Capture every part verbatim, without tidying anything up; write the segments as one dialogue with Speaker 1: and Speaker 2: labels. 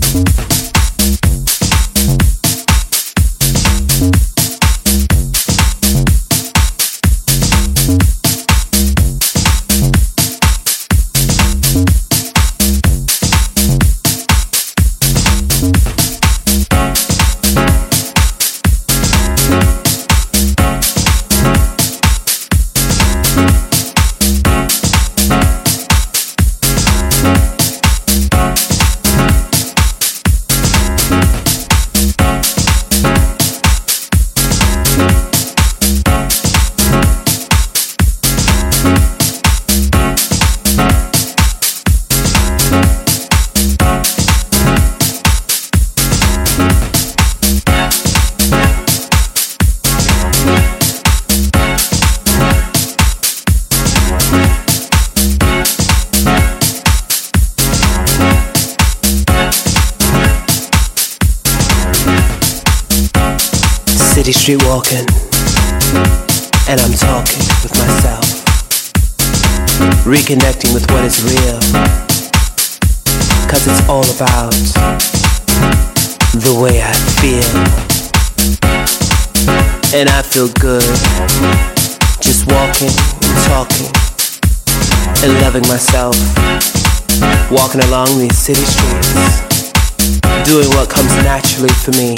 Speaker 1: City street walking, and I'm talking with myself, reconnecting with what is real, cause it's all about the way I feel. And I feel good, just walking and talking, and loving myself, walking along these city streets, doing what comes naturally for me.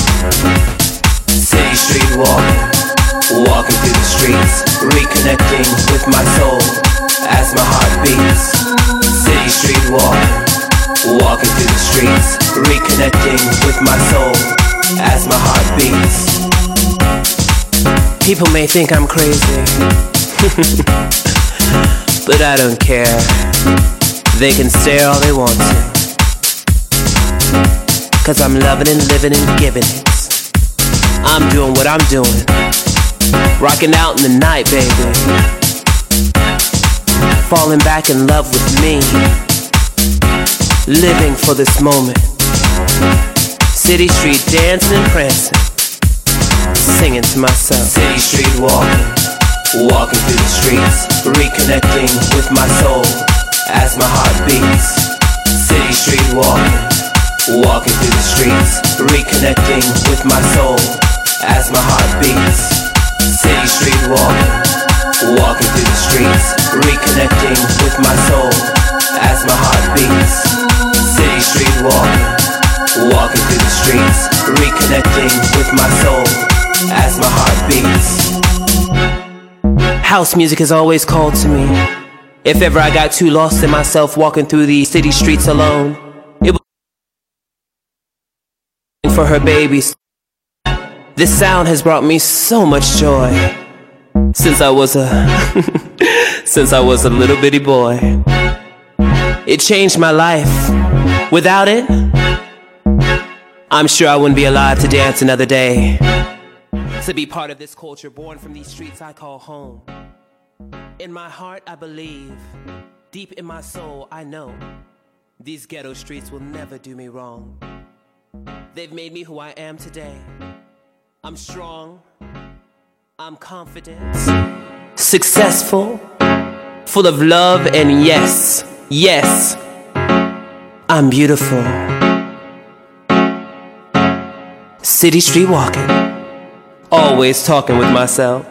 Speaker 1: City street walking, walking through the streets, reconnecting with my soul as my heart beats. City street walking, walking through the streets, reconnecting with my soul as my heart beats. People may think I'm crazy, but I don't care. They can stare all they want to, cause I'm loving and living and giving it. I'm doing what I'm doing, rocking out in the night, baby, falling back in love with me, living for this moment. City street dancing and prancing, singing to myself. City street walking, walking through the streets, reconnecting with my soul as my heart beats. City street walking, walking through the streets, reconnecting with my soul as my heart beats. City street walking, walking through the streets, reconnecting with my soul as my heart beats. City street walking, walking through the streets, reconnecting with my soul as my heart beats. House music has always called to me. If ever I got too lost in myself walking through these city streets alone, it was for her babies. This sound has brought me so much joy since I was a since I was a little bitty boy. It changed my life. Without it, I'm sure I wouldn't be alive to dance another day. To be part of this culture born from these streets I call home. In my heart I believe, deep in my soul I know, these ghetto streets will never do me wrong. They've made me who I am today. I'm strong, I'm confident, successful, full of love, and yes, yes, I'm beautiful. City street walking, always talking with myself.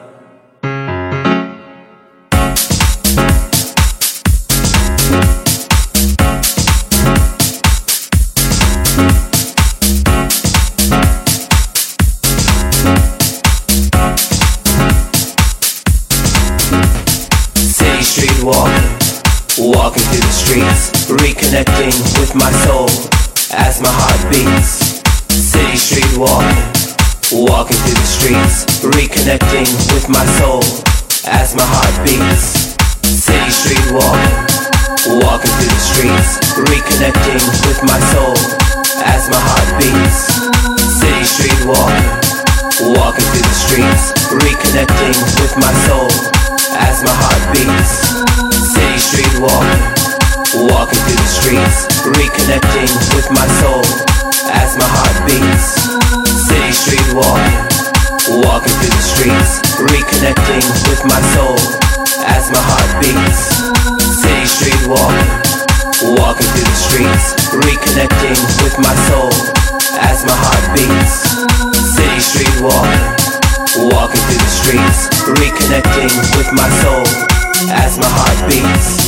Speaker 1: Walking through the streets, reconnecting with my soul as my heart beats. City street walking, walking through the streets, reconnecting with my soul as my heart beats. City street walking, walking through the streets, reconnecting with my soul as my heart beats. City street walking, walking through the streets, reconnecting with my soul as my heart beats. City street walking, walking through the streets, reconnecting with my soul as my heart beats. City street walking, walking through the streets, reconnecting with my soul as my heart beats. City street walking, walking through the streets, reconnecting with my soul as my heart beats. City street walking, walking through the streets, reconnecting with my soul as my heart beats.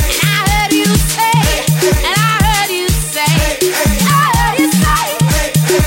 Speaker 2: I heard you say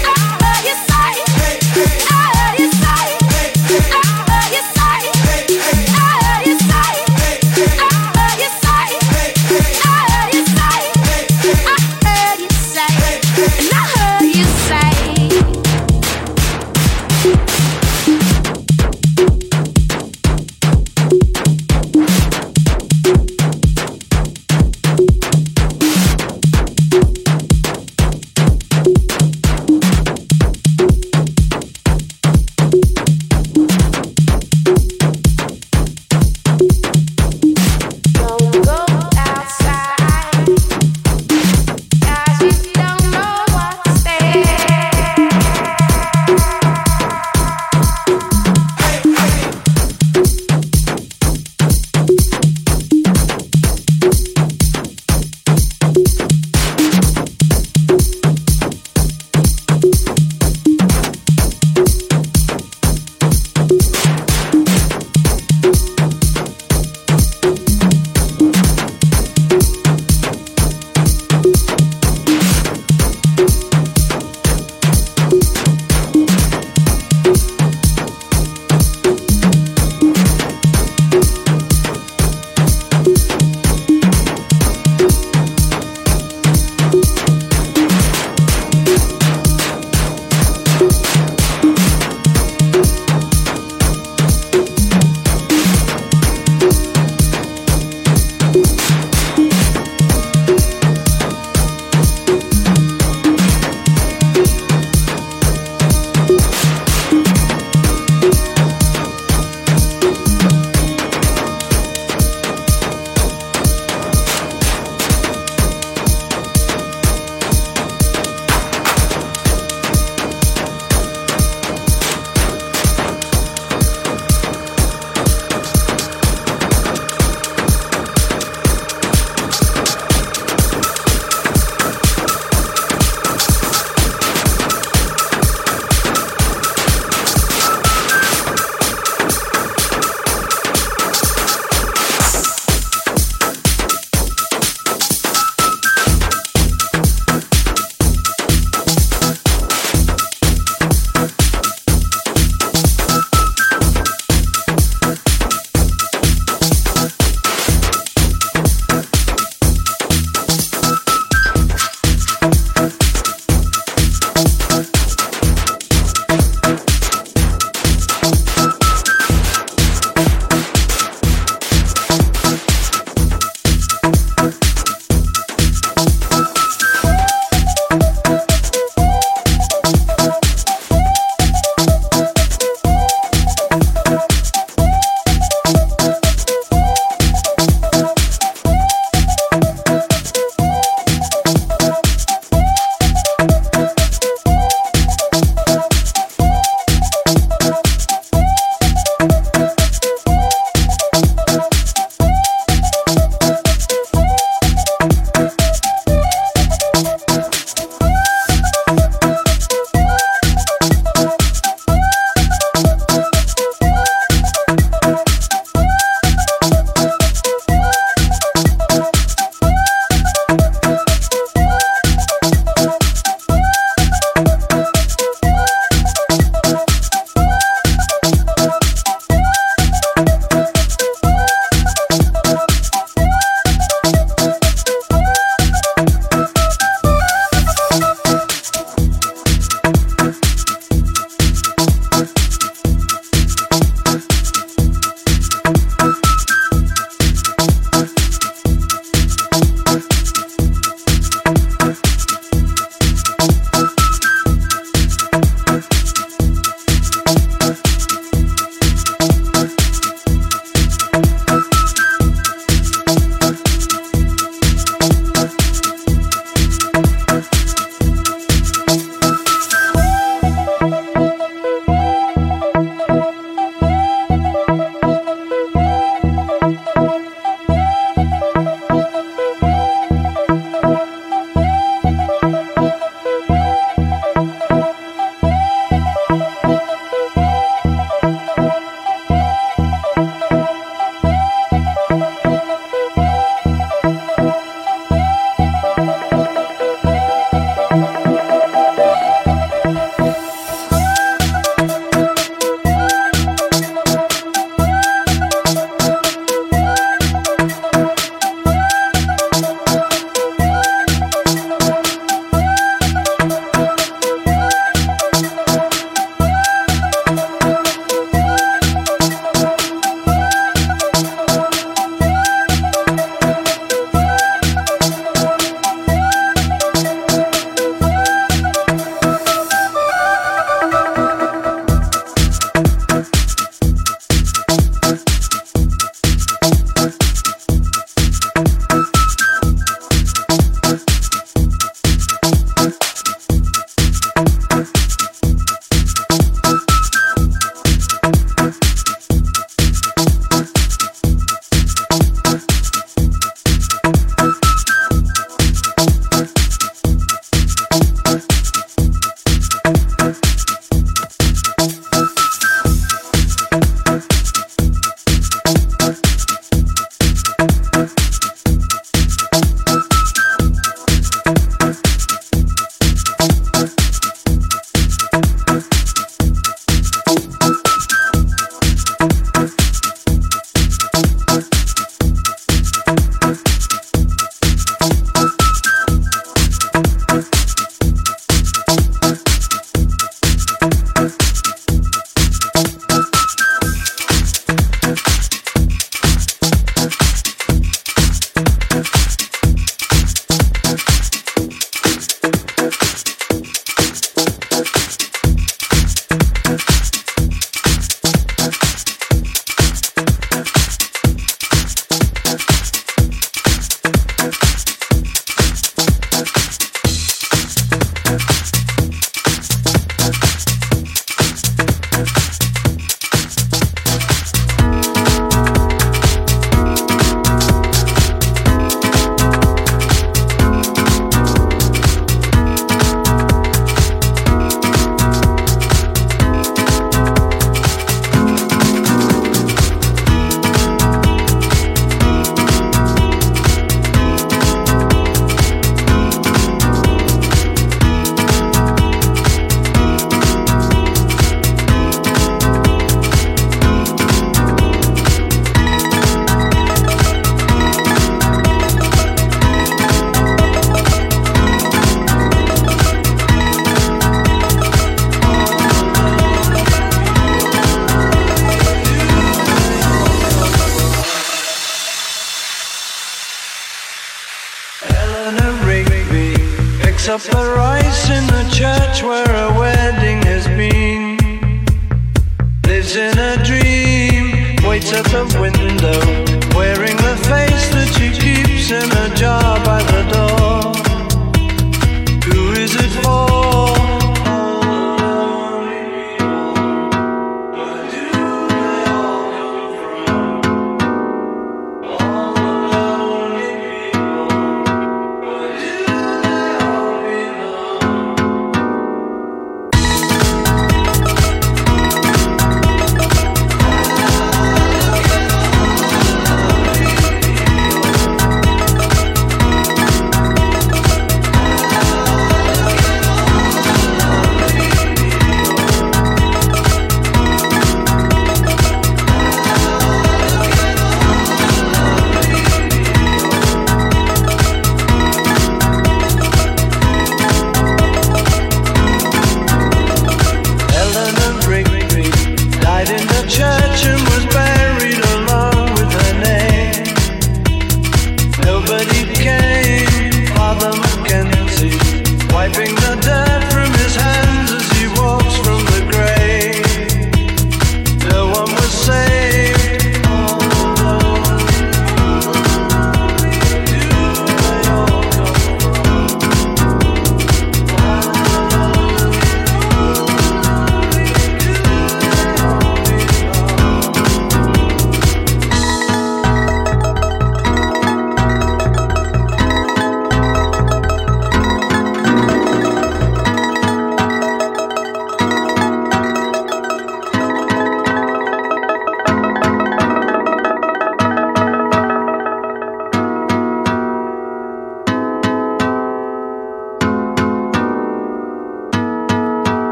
Speaker 2: Eleanor Rigby picks up the rice in the church where a wedding has been. Lives in a dream, waits at the window, wearing the face that she keeps in a jar by the door. Who is it for?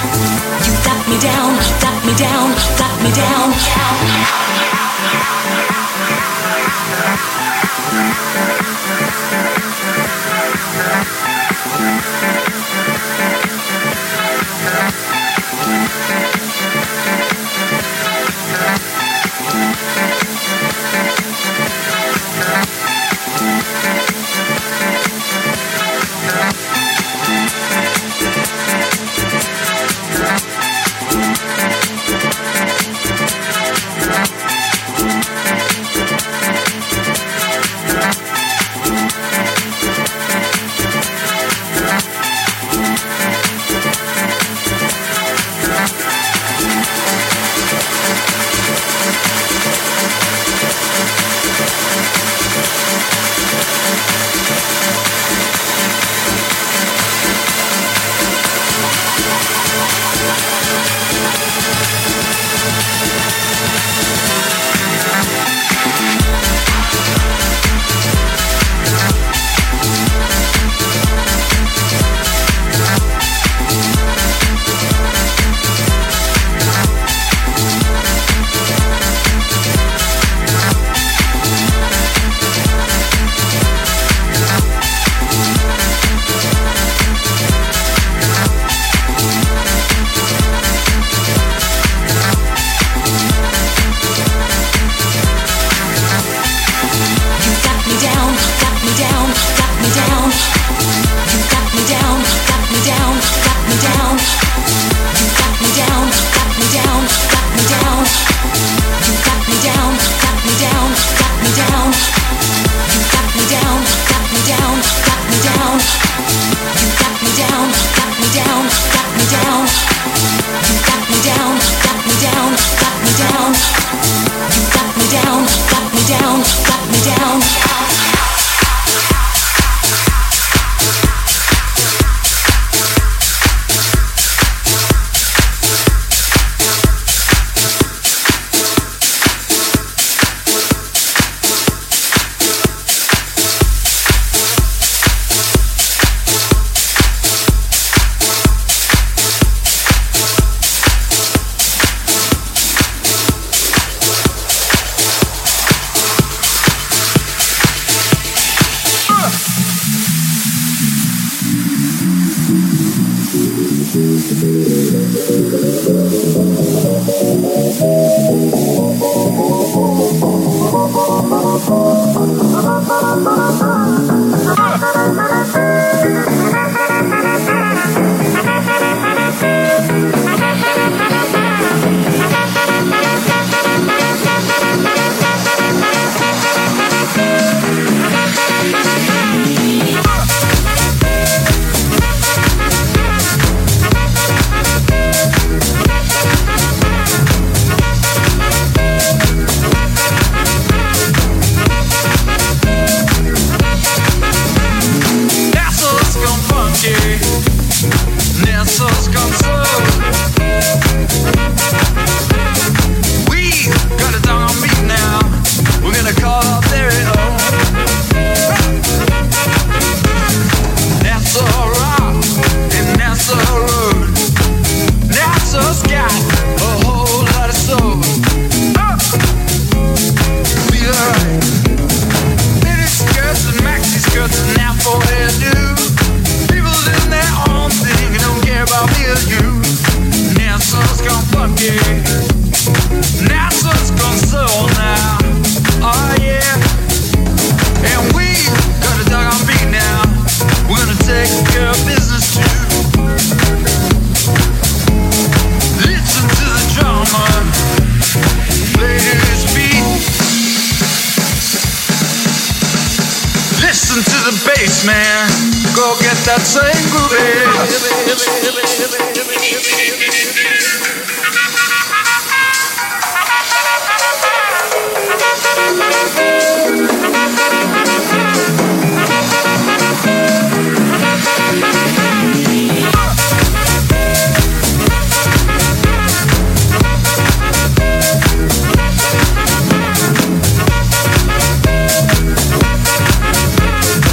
Speaker 3: You got me down, got me down, got me down.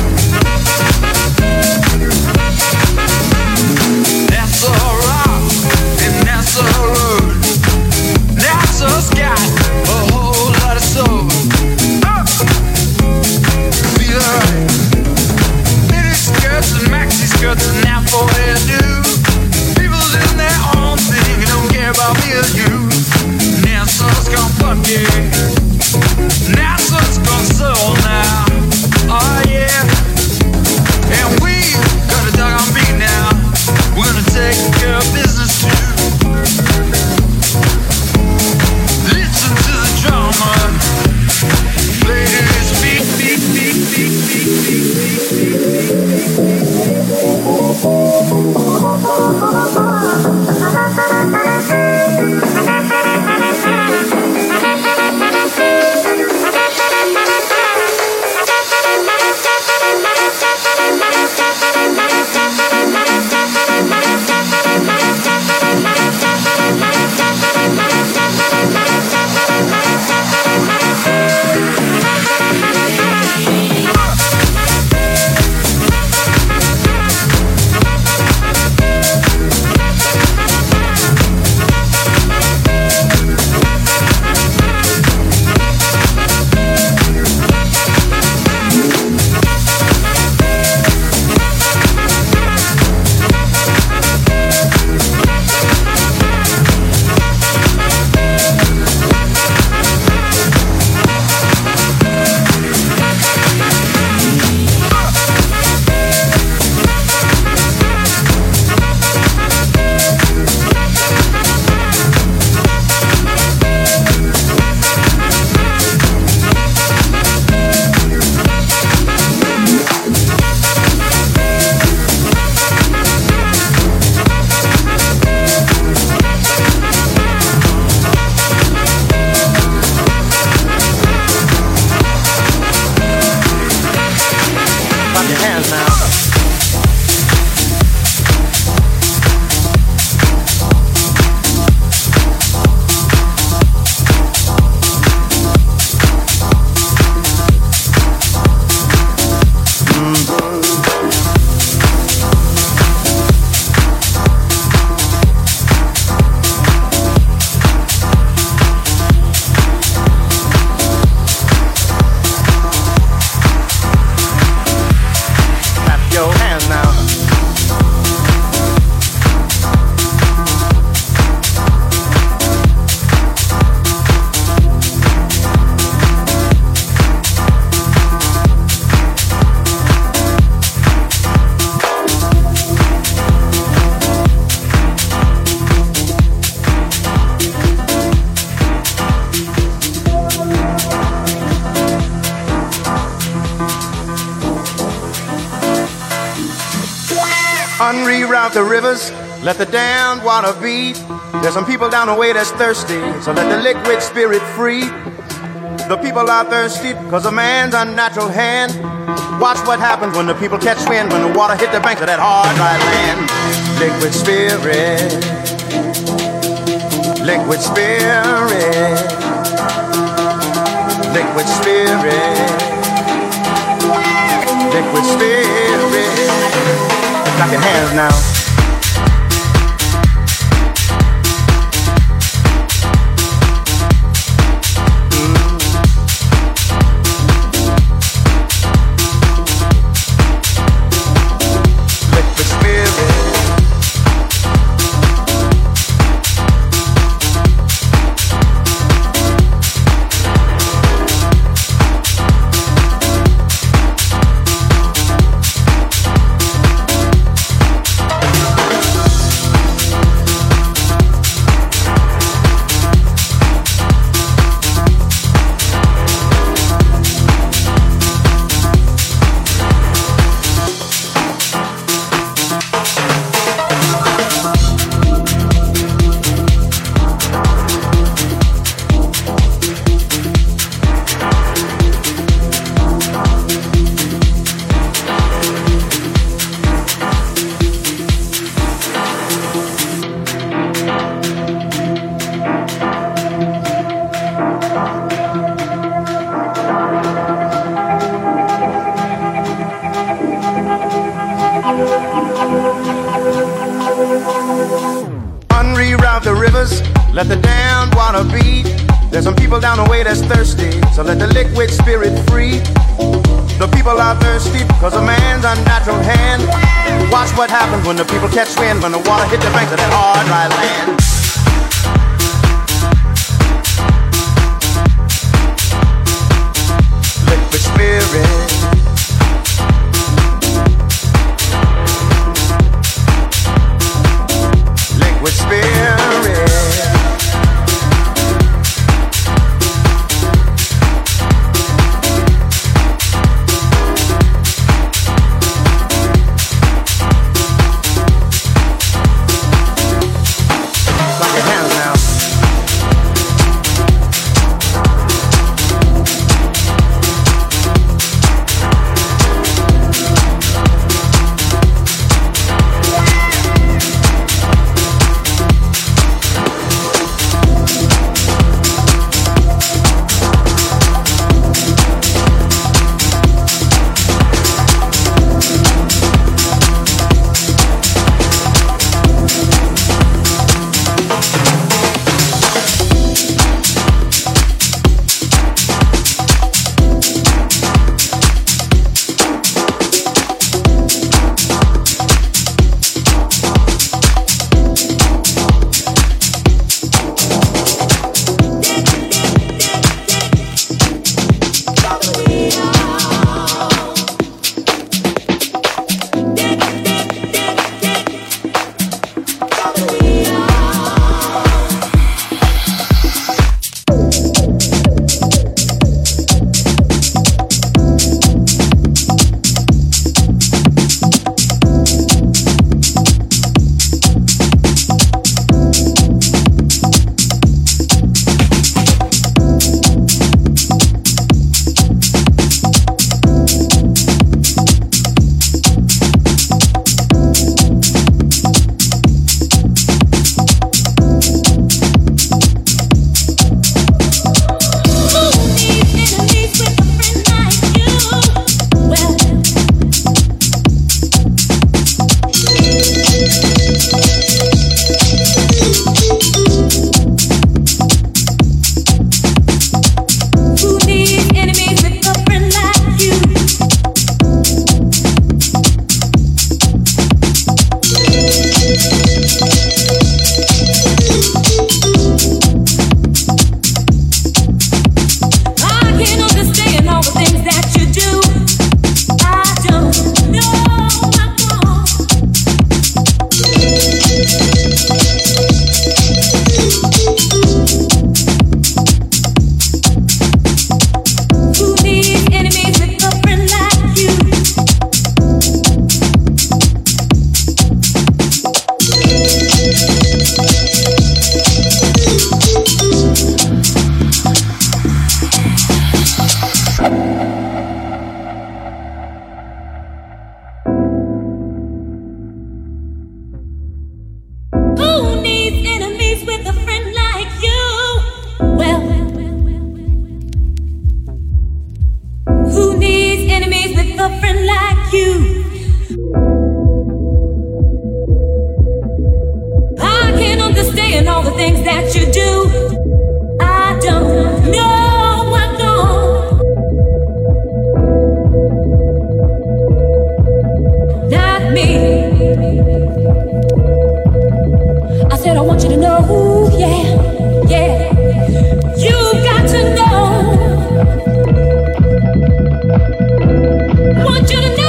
Speaker 2: That's alright.
Speaker 4: Unreroute the rivers, let the damned water beat. There's some people down the way that's thirsty, so let the liquid spirit free. The people are thirsty because of man's unnatural hand. Watch what happens when the people catch wind, when the water hit the banks of that hard, dry land. Liquid spirit, liquid spirit, liquid spirit, liquid spirit. Clap your hands now. Unreroute the rivers, let the damned water beat. There's some people down the way that's thirsty, so let the liquid spirit free. The people are thirsty because of man's unnatural hand. Watch what happens when the people catch wind, when the water hit the banks of that hard, dry land. Liquid spirit, liquid spirit. Clap your hands now.
Speaker 3: things that you do. I don't know what don't. Not me. I said I want you to know, yeah, yeah. You got to know. Want you to know.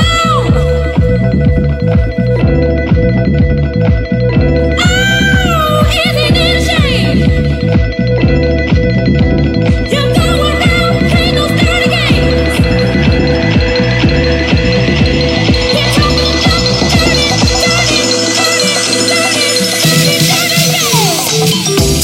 Speaker 3: Oh, isn't it a shame? You go around playing those dirty games. You're talking about dirty, dirty, dirty, dirty, dirty, dirty games.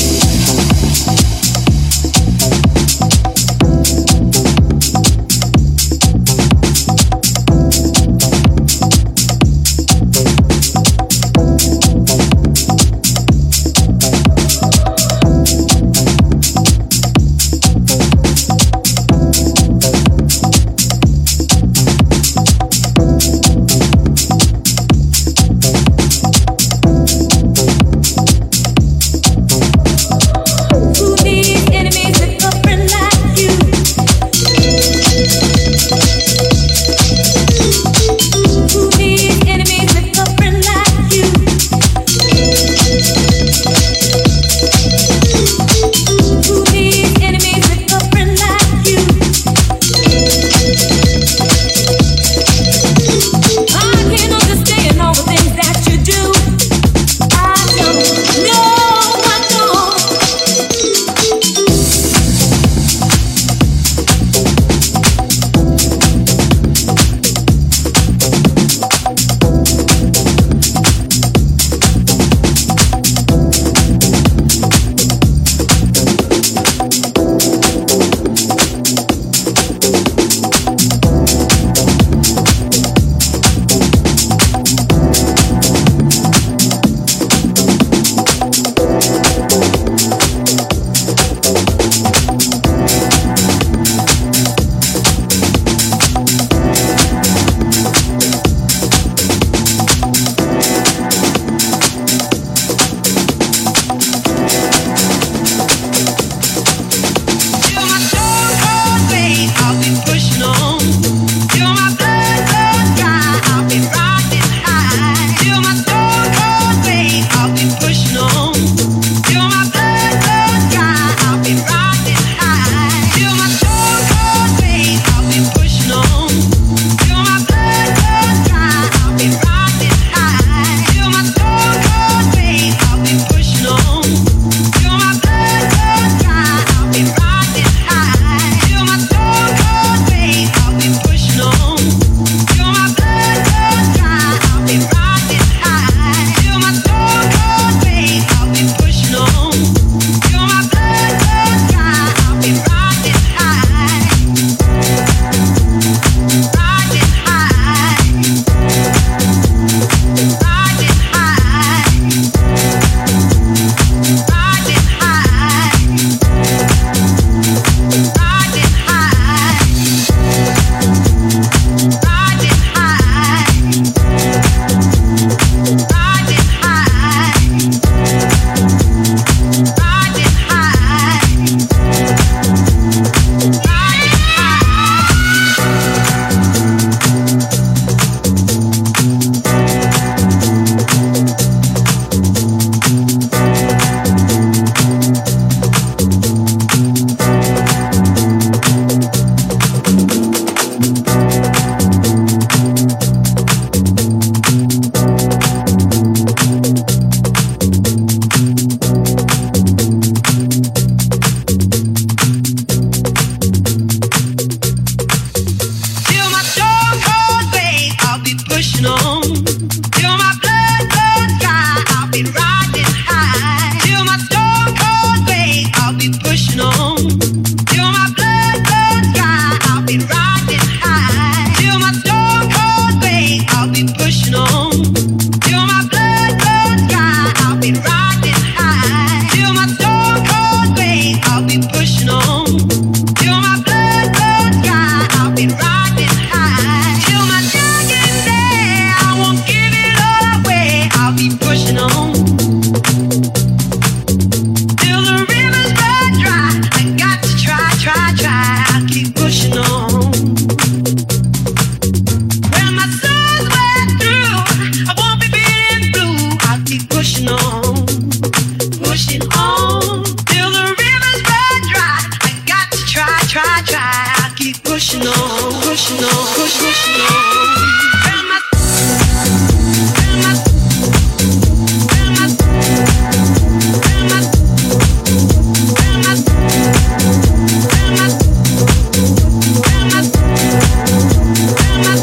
Speaker 5: pushing on till the rivers run dry. I got to try, try, try. I keep pushing on, pushing on, push, pushing on. Found my, found my, found my, found my, found my, found my, found my, found my.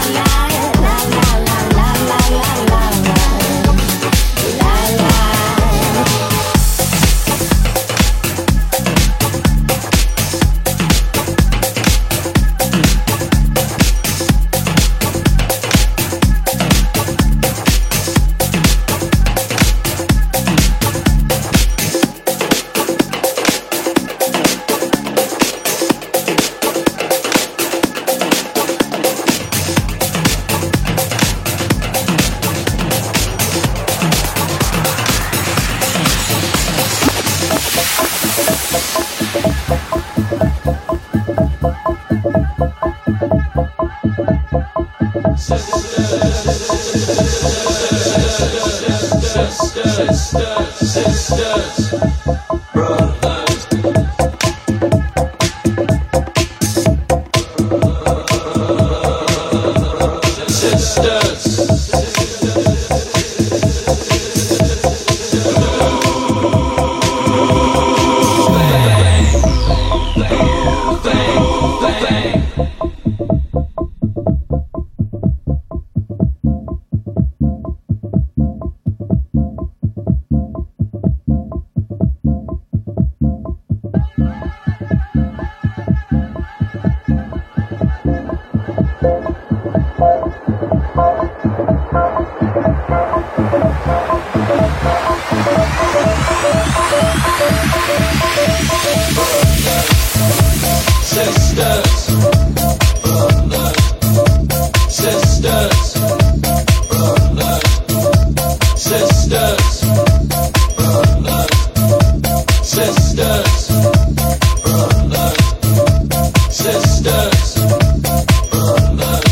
Speaker 6: Sisters, sisters,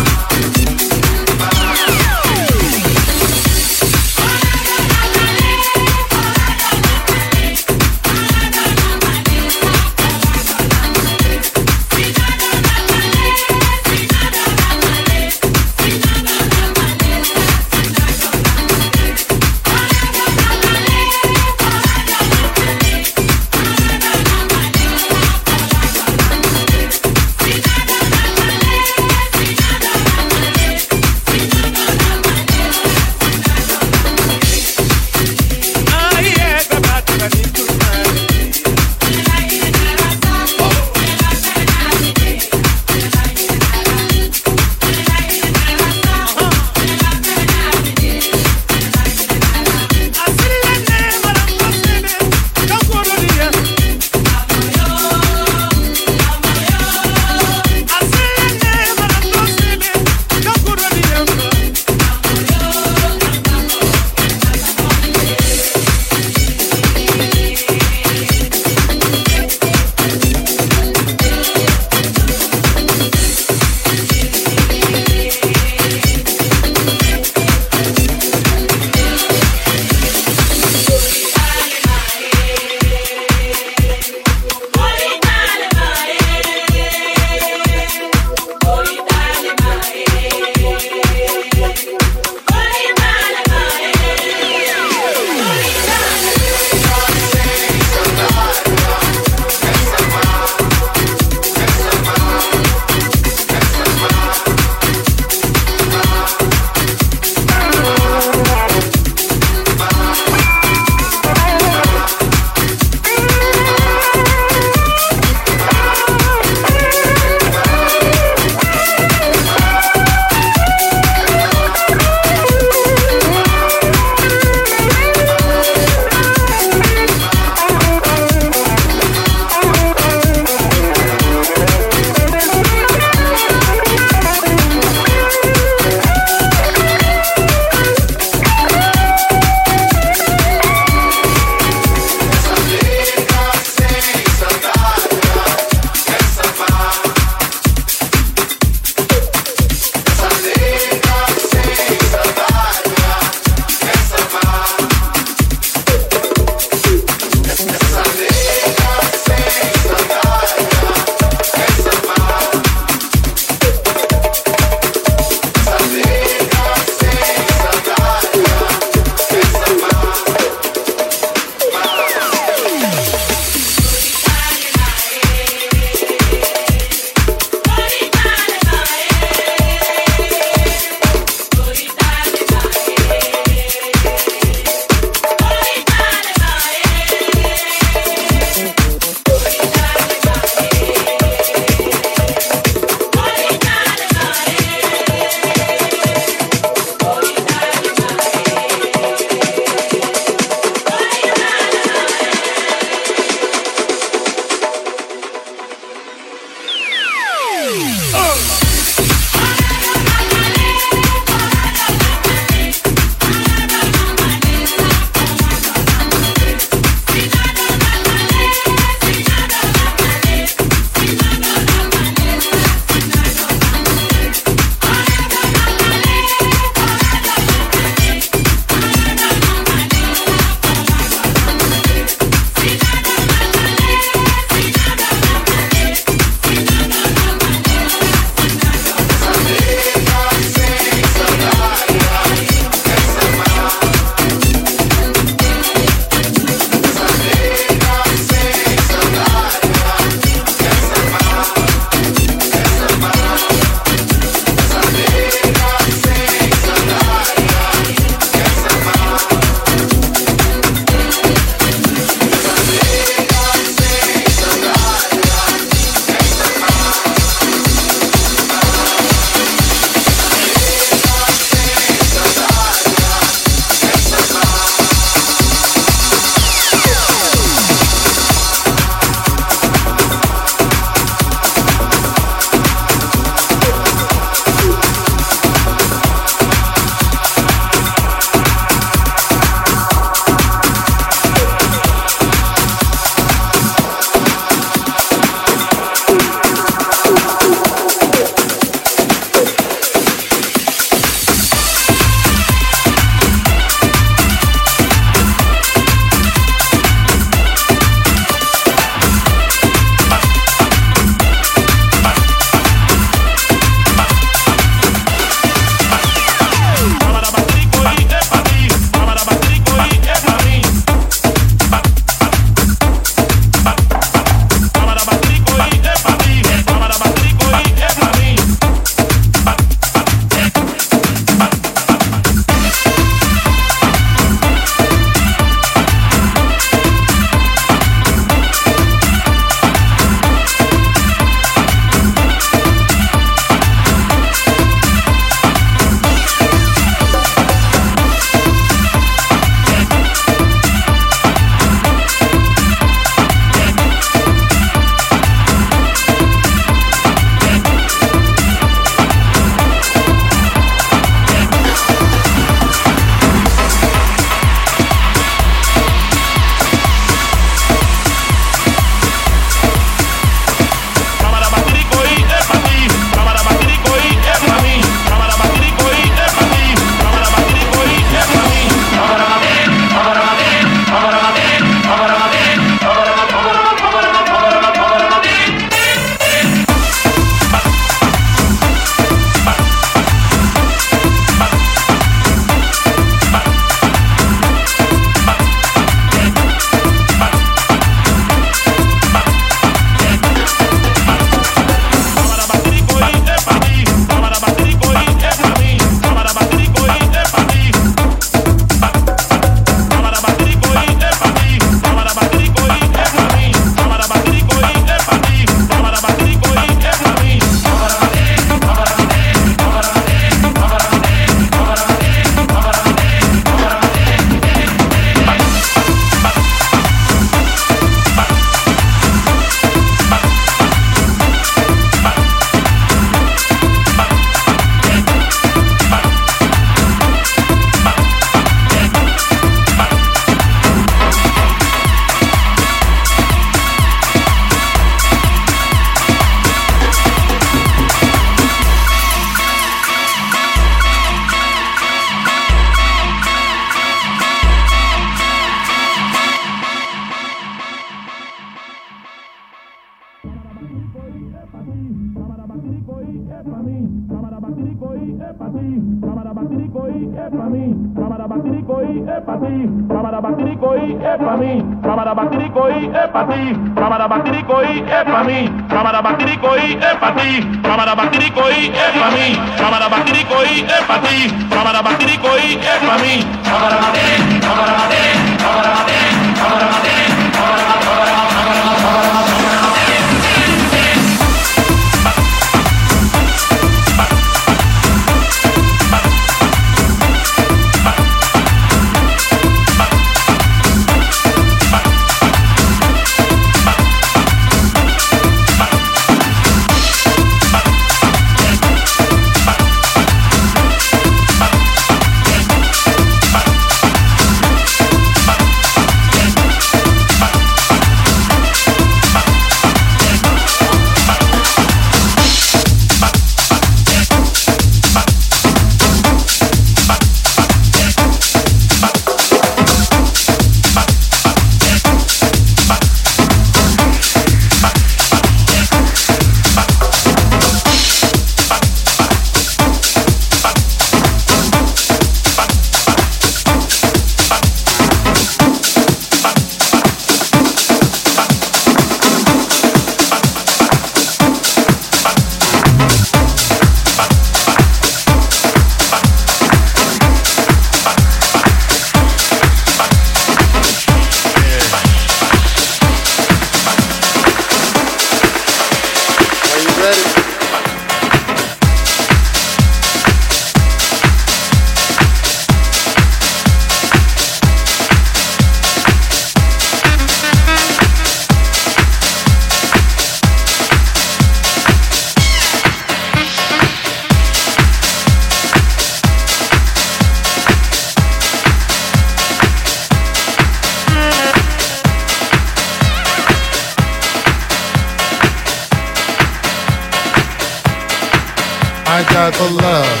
Speaker 6: I got the love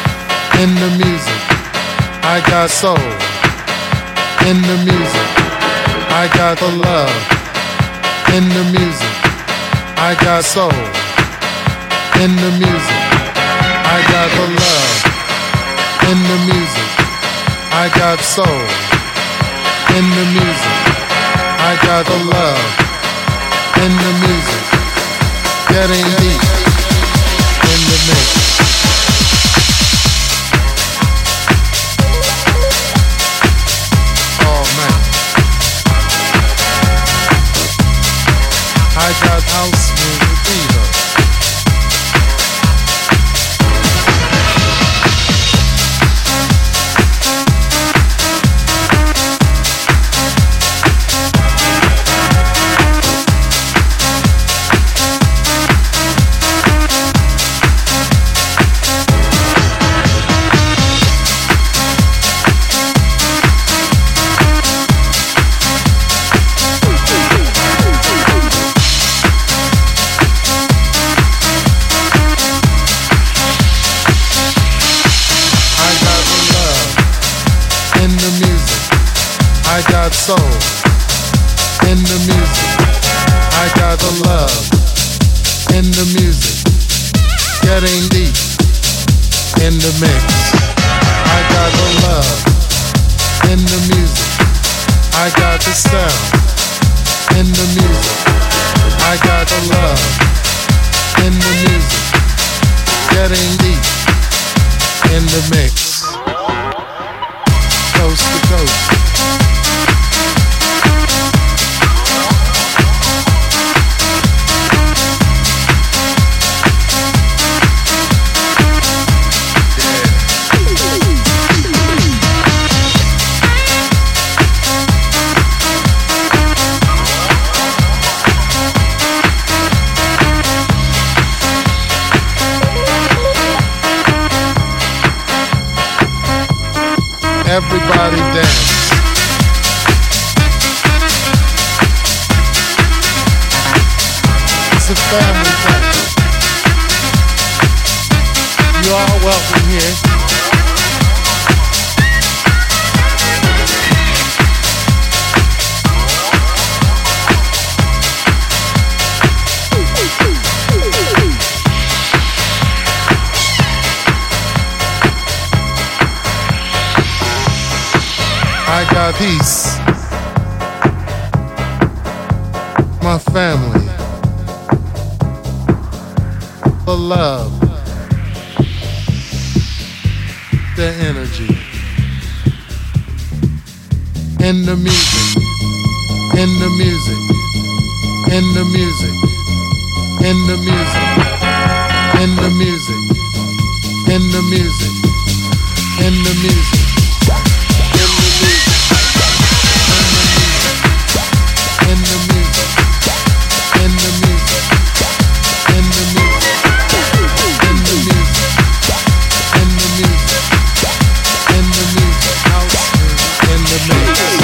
Speaker 6: in the music. I got soul in the music. I got the love in the music. I got soul in the music. I got the love in the music. I got soul in the music. I got the love in the music. Getting deep in the mix. Oh man, I got house music fever. I got soul in the music. I got the love in the music. Getting deep in the mix. I got the love in the music. I got the sound in the music. I got the love in the music. Getting deep in the mix. Coast to coast. Everybody dance. It's a family thing. You are welcome here. peace, my family, the love, the energy, in the music, in the music, in the music, in the music, in the music, in the music, in the music, in the music, in the music, in the music, in the music, in the music, in the music, in the music, house music, in the music.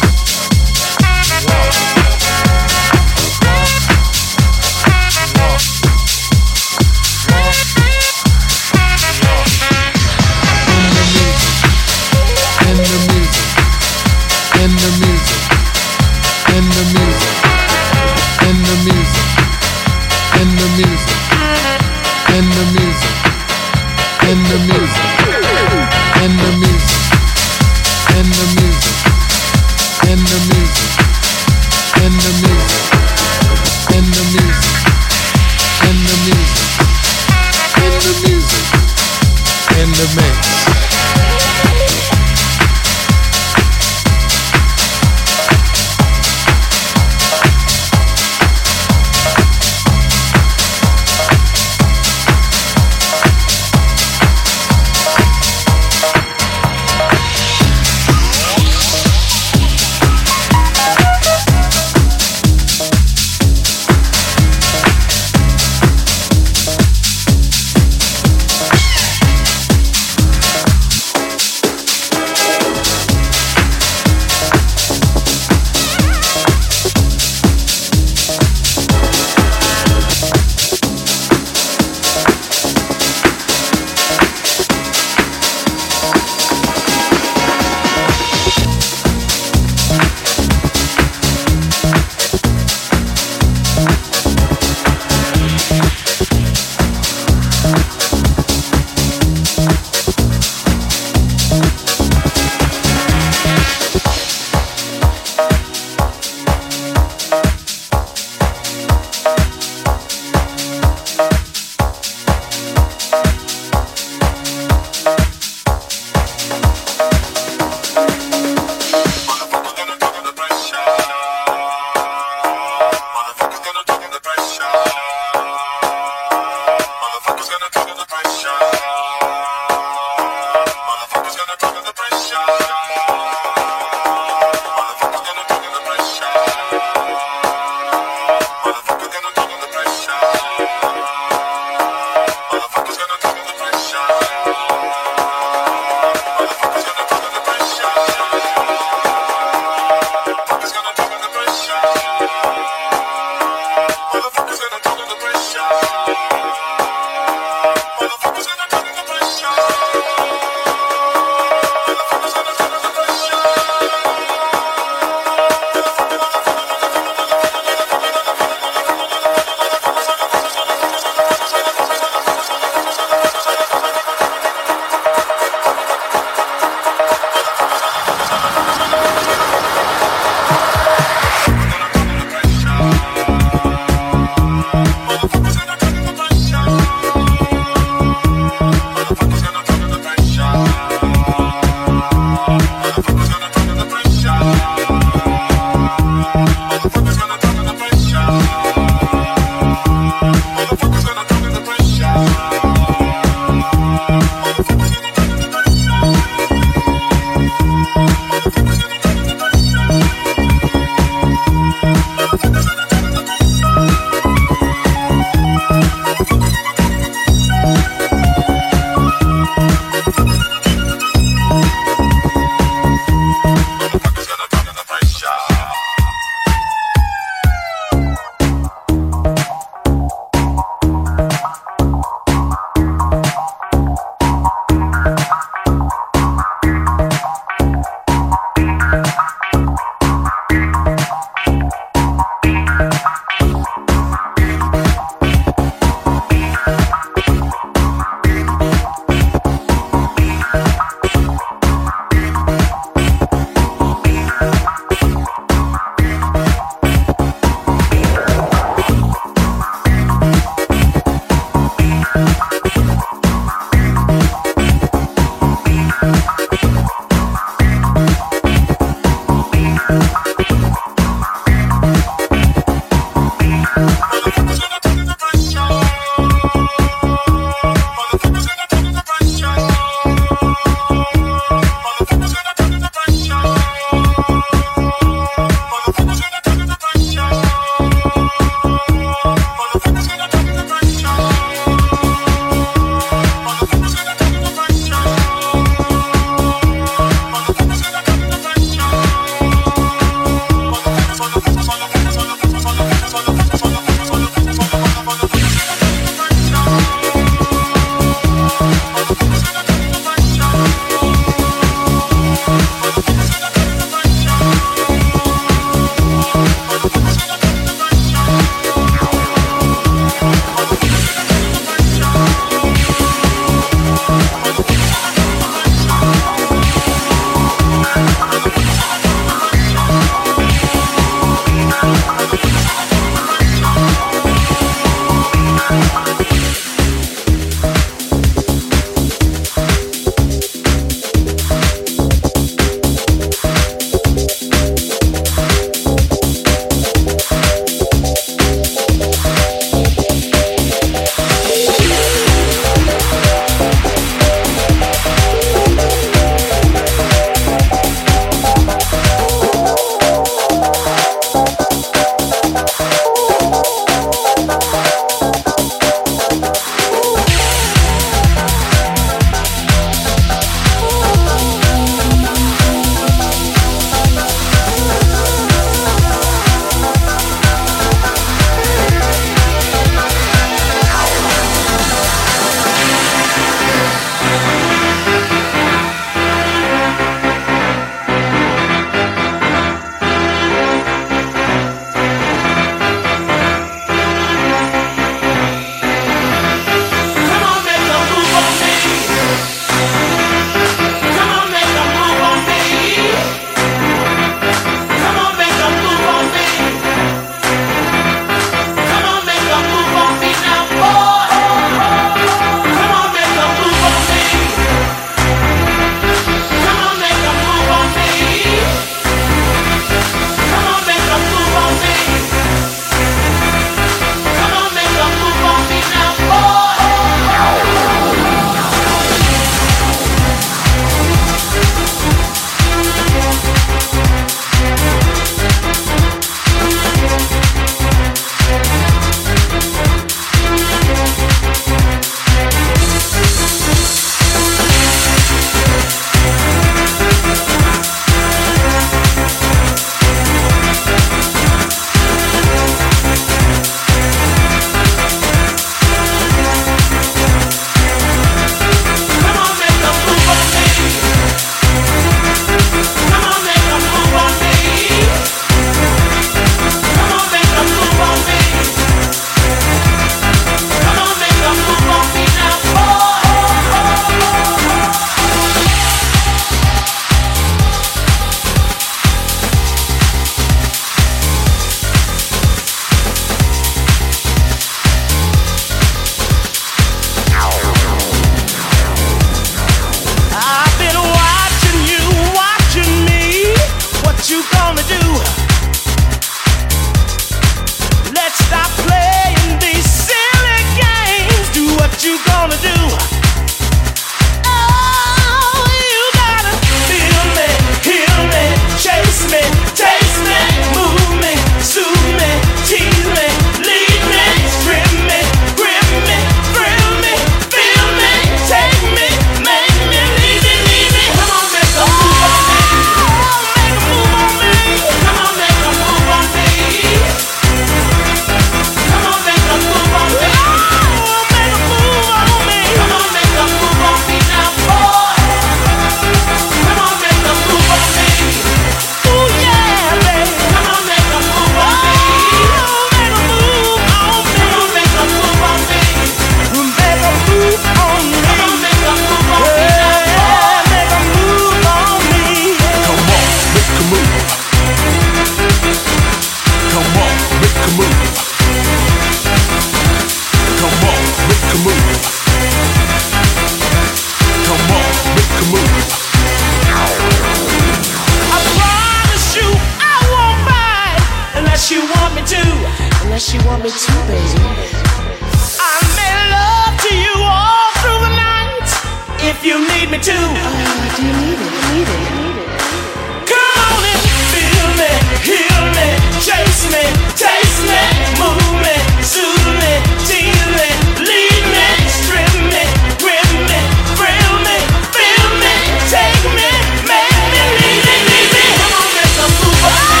Speaker 7: she want me to, baby.
Speaker 8: I made love to you all through the night. If you need me to.
Speaker 7: Oh, do you need it? Need it? Need it?
Speaker 8: Come on and feel me, heal me, chase me, taste me, move me, soothe me, tease me, lead me, strip me, grip me, thrill me, feel me, take me, make me, leave me, leave me. Come on, make some move on me.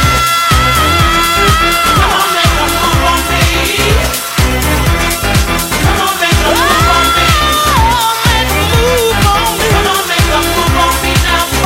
Speaker 8: Come on, make some move on me. Come on, make some move on me. Oh, make a move on me. Come on, make some move on me now.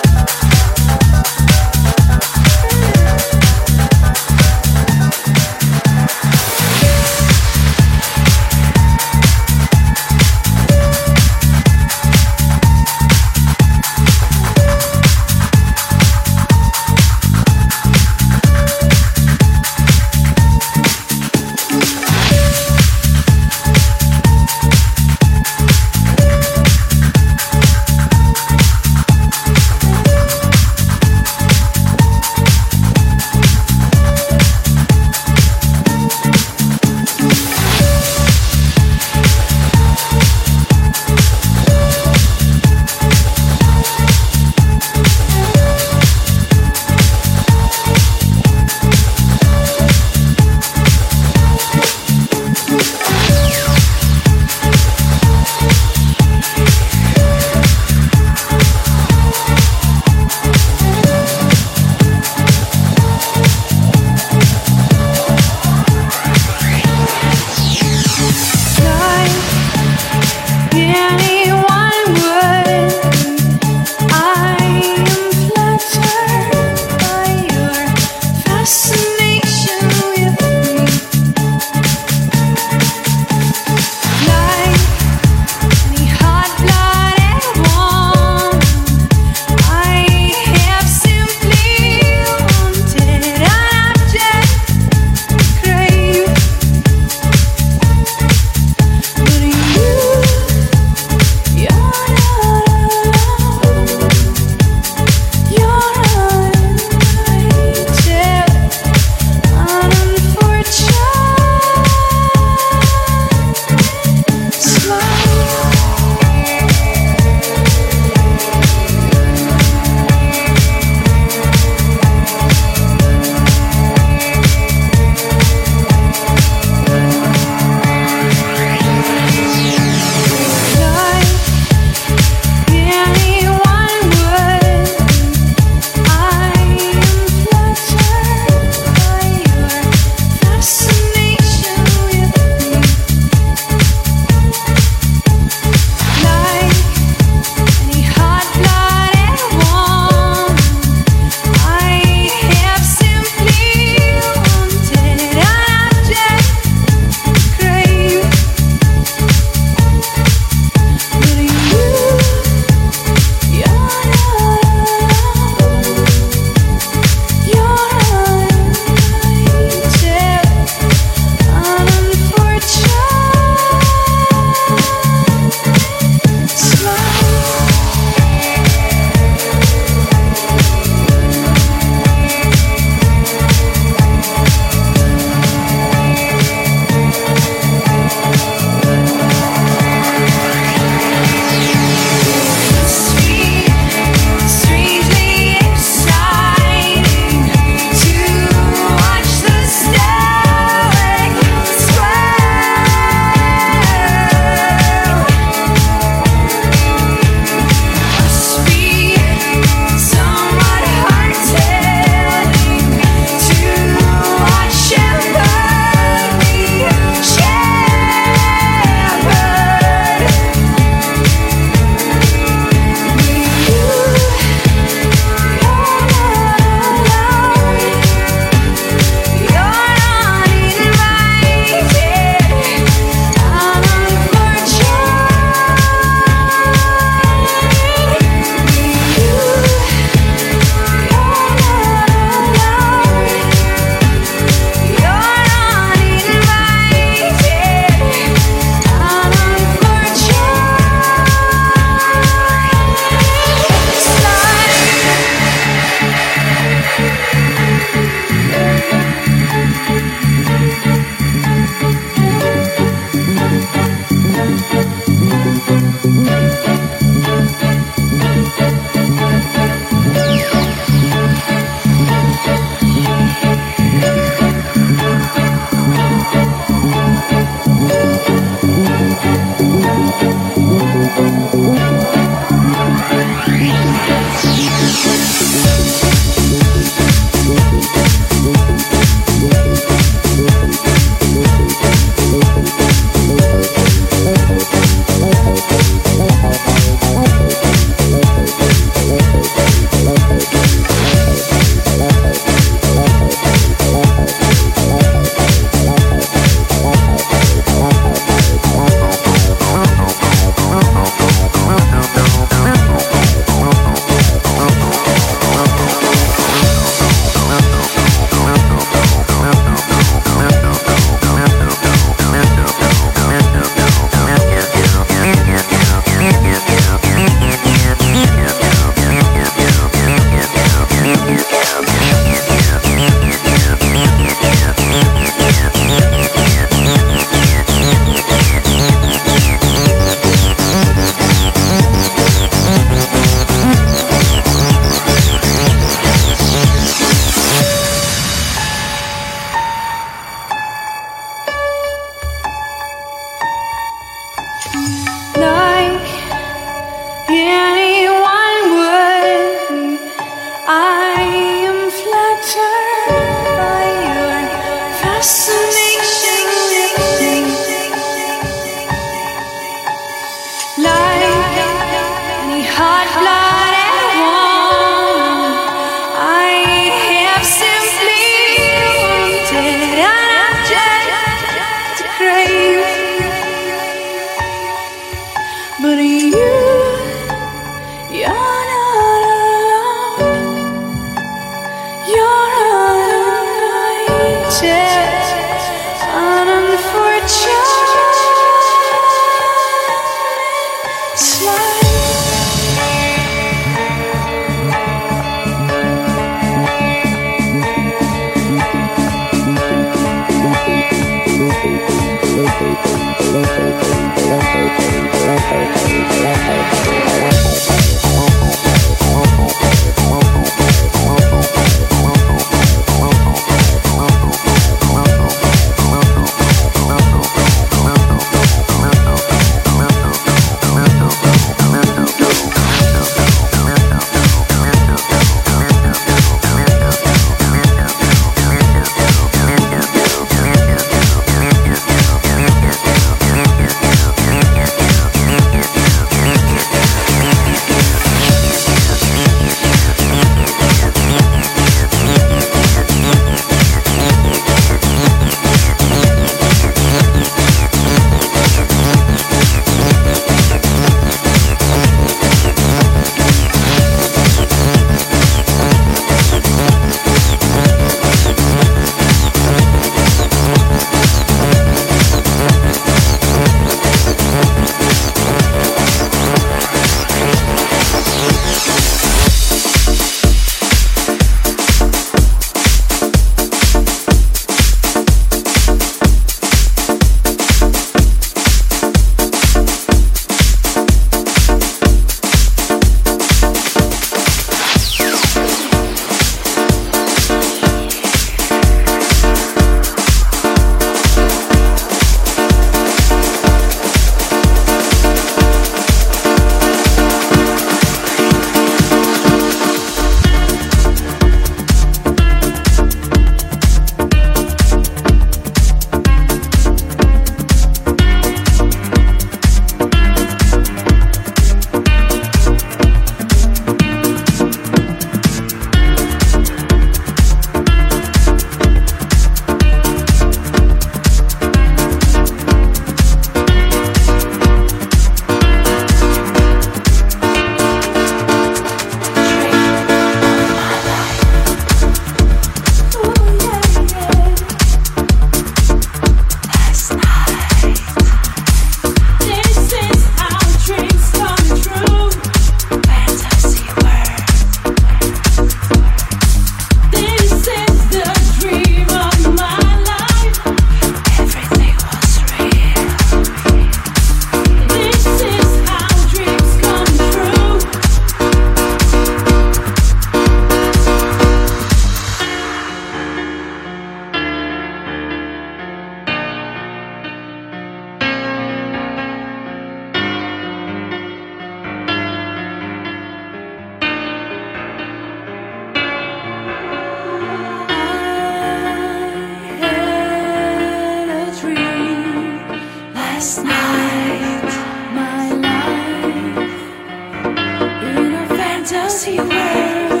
Speaker 3: dirty world.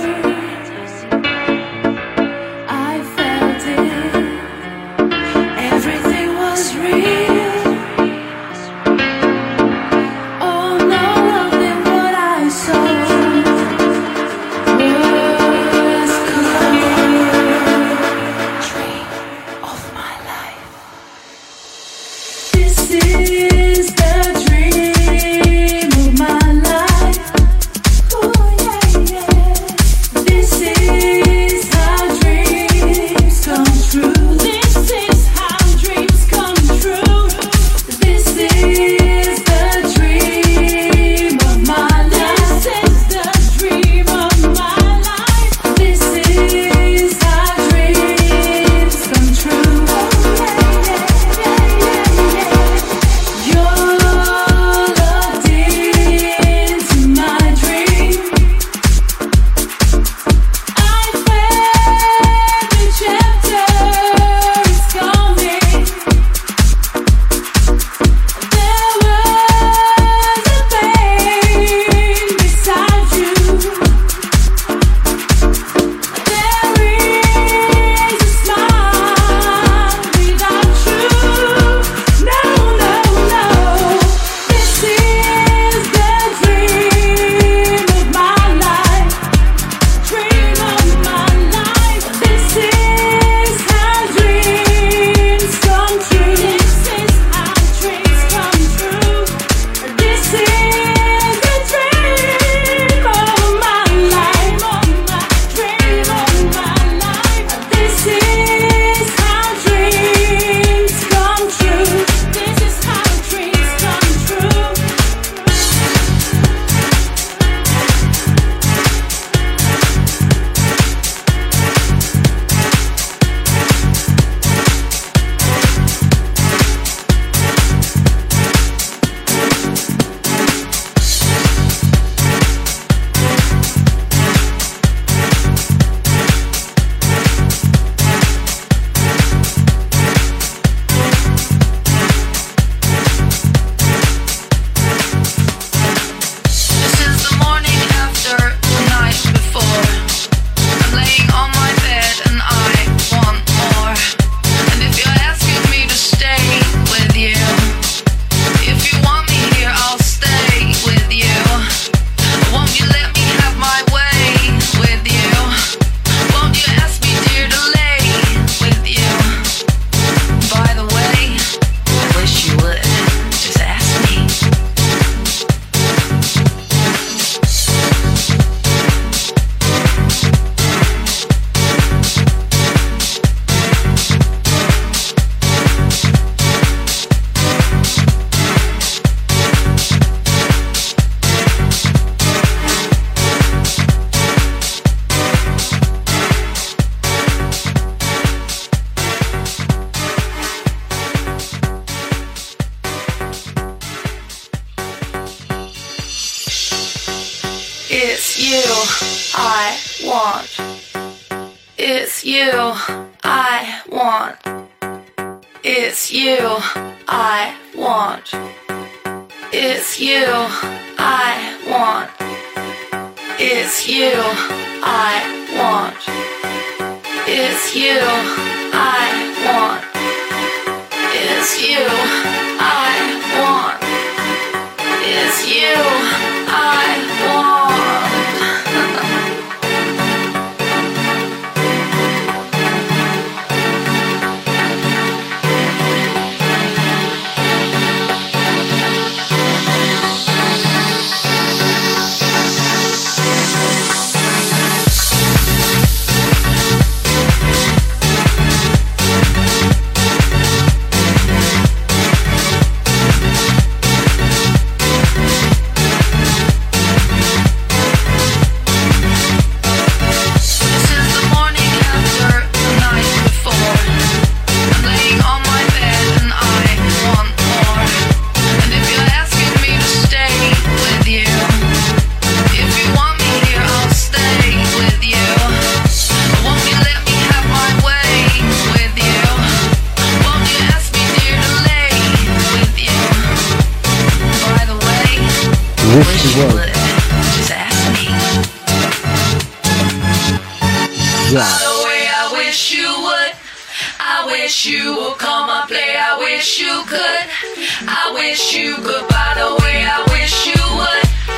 Speaker 3: I felt it. Everything was real. Oh, none of them what I saw was clear. Dream of my life. This is the dream of my life. Oh yeah, yeah. This is how dreams come true. This is how dreams come true. This is the dream of my life. This is the dream of my life. This is how dreams come true. Oh yeah, yeah, yeah, yeah, yeah. You're locked into my dream. I felt the chapter is coming. There was a pain beside you. There is a smile without you. No, no, no. This is the dream of my life. Dream of my life. This is how dreams come true. This is how dreams come true. This is the dream of my life. Dream of my life. This is how dreams come true. This is how dreams come true.
Speaker 9: This is the morning after the night before. I'm laying on my bed and I want more. And if you're asking me to stay with you, if you want me here, I'll stay with you. Won't you let me have my way with you? Won't you ask me, dear, to lay with you? By the way, I wish you would. Just ask me. It's you I want. It's you I want. It's you I want. It's you I want. It's you I want. It's you I want. It's you I want. It's you I want.
Speaker 10: Wish you would.
Speaker 9: Just ask me.
Speaker 10: drop.
Speaker 9: By the way, I wish you would. I wish you would come and play. I wish you could. I wish you could. By the way, I wish you would.